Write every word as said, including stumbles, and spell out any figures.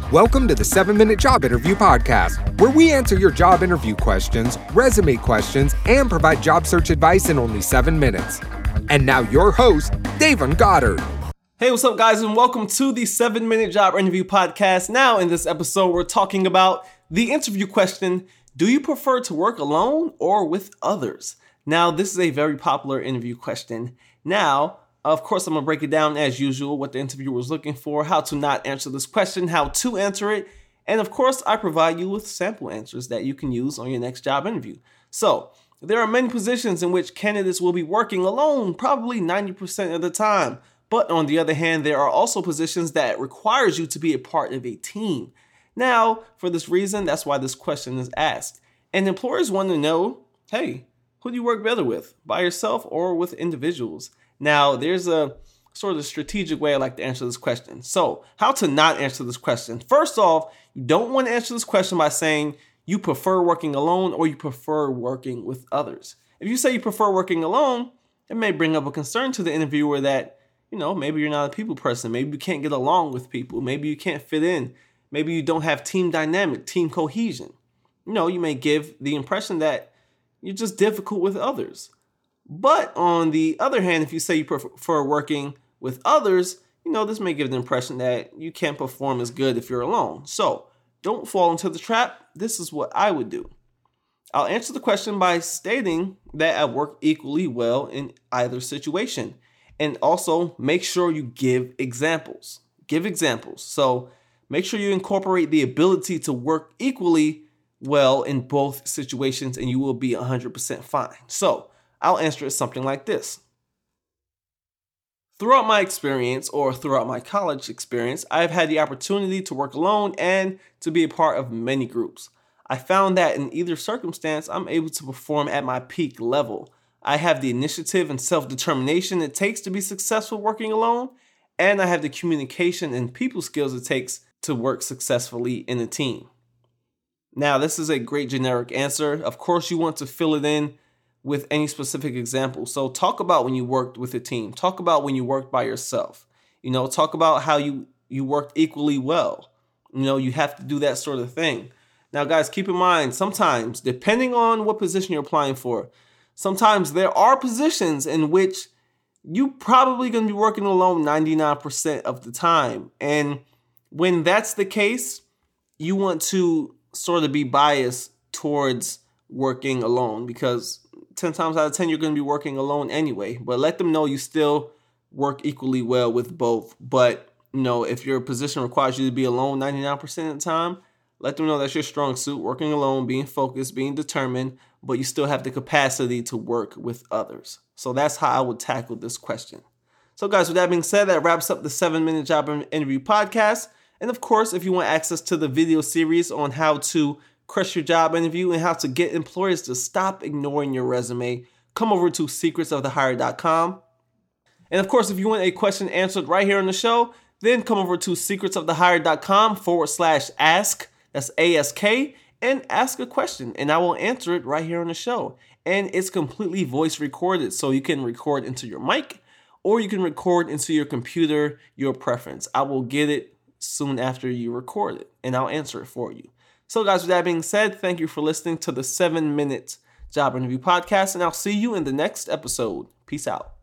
Welcome to the seven minute Job Interview Podcast, where we answer your job interview questions, resume questions, and provide job search advice in only seven minutes. And now your host, Davon Goddard. Hey, what's up, guys, and welcome to the seven minute Job Interview Podcast. Now, in this episode, we're talking about the interview question, do you prefer to work alone or with others? Now, this is a very popular interview question. Now, of course, I'm going to break it down as usual, what the interviewer was looking for, how to not answer this question, how to answer it, and of course, I provide you with sample answers that you can use on your next job interview. So, there are many positions in which candidates will be working alone, probably ninety percent of the time. But on the other hand, there are also positions that requires you to be a part of a team. Now, for this reason, that's why this question is asked. And employers want to know, hey, who do you work better with, by yourself or with individuals? Now, there's a sort of strategic way I like to answer this question. So, how to not answer this question? First off, you don't want to answer this question by saying you prefer working alone or you prefer working with others. If you say you prefer working alone, it may bring up a concern to the interviewer that, you know, maybe you're not a people person. Maybe you can't get along with people. Maybe you can't fit in. Maybe you don't have team dynamic, team cohesion. You know, you may give the impression that you're just difficult with others. But on the other hand, if you say you prefer working with others, you know, this may give the impression that you can't perform as good if you're alone. So don't fall into the trap. This is what I would do. I'll answer the question by stating that I work equally well in either situation. And also make sure you give examples. Give examples. So make sure you incorporate the ability to work equally well in both situations and you will be one hundred percent fine. So I'll answer it something like this. Throughout my experience or throughout my college experience, I've had the opportunity to work alone and to be a part of many groups. I found that in either circumstance, I'm able to perform at my peak level. I have the initiative and self-determination it takes to be successful working alone, and I have the communication and people skills it takes to work successfully in a team. Now, this is a great generic answer. Of course, you want to fill it in with any specific example. So talk about when you worked with a team. Talk about when you worked by yourself. You know, talk about how you, you worked equally well. You know, you have to do that sort of thing. Now, guys, keep in mind, sometimes, depending on what position you're applying for, sometimes there are positions in which you probably going to be working alone ninety-nine percent of the time. And when that's the case, you want to sort of be biased towards working alone because ten times out of ten, you're going to be working alone anyway. But let them know you still work equally well with both. But, you know, if your position requires you to be alone ninety-nine percent of the time, let them know that's your strong suit, working alone, being focused, being determined, but you still have the capacity to work with others. So that's how I would tackle this question. So guys, with that being said, that wraps up the seven minute Job Interview Podcast. And of course, if you want access to the video series on how to crush your job interview and how to get employers to stop ignoring your resume, come over to secrets of the hire dot com. And of course, if you want a question answered right here on the show, then come over to secrets of the hire dot com forward slash ask. That's A S K, and ask a question, and I will answer it right here on the show. And it's completely voice recorded, so you can record into your mic, or you can record into your computer, your preference. I will get it soon after you record it, and I'll answer it for you. So guys, with that being said, thank you for listening to the seven minute Job Interview Podcast, and I'll see you in the next episode. Peace out.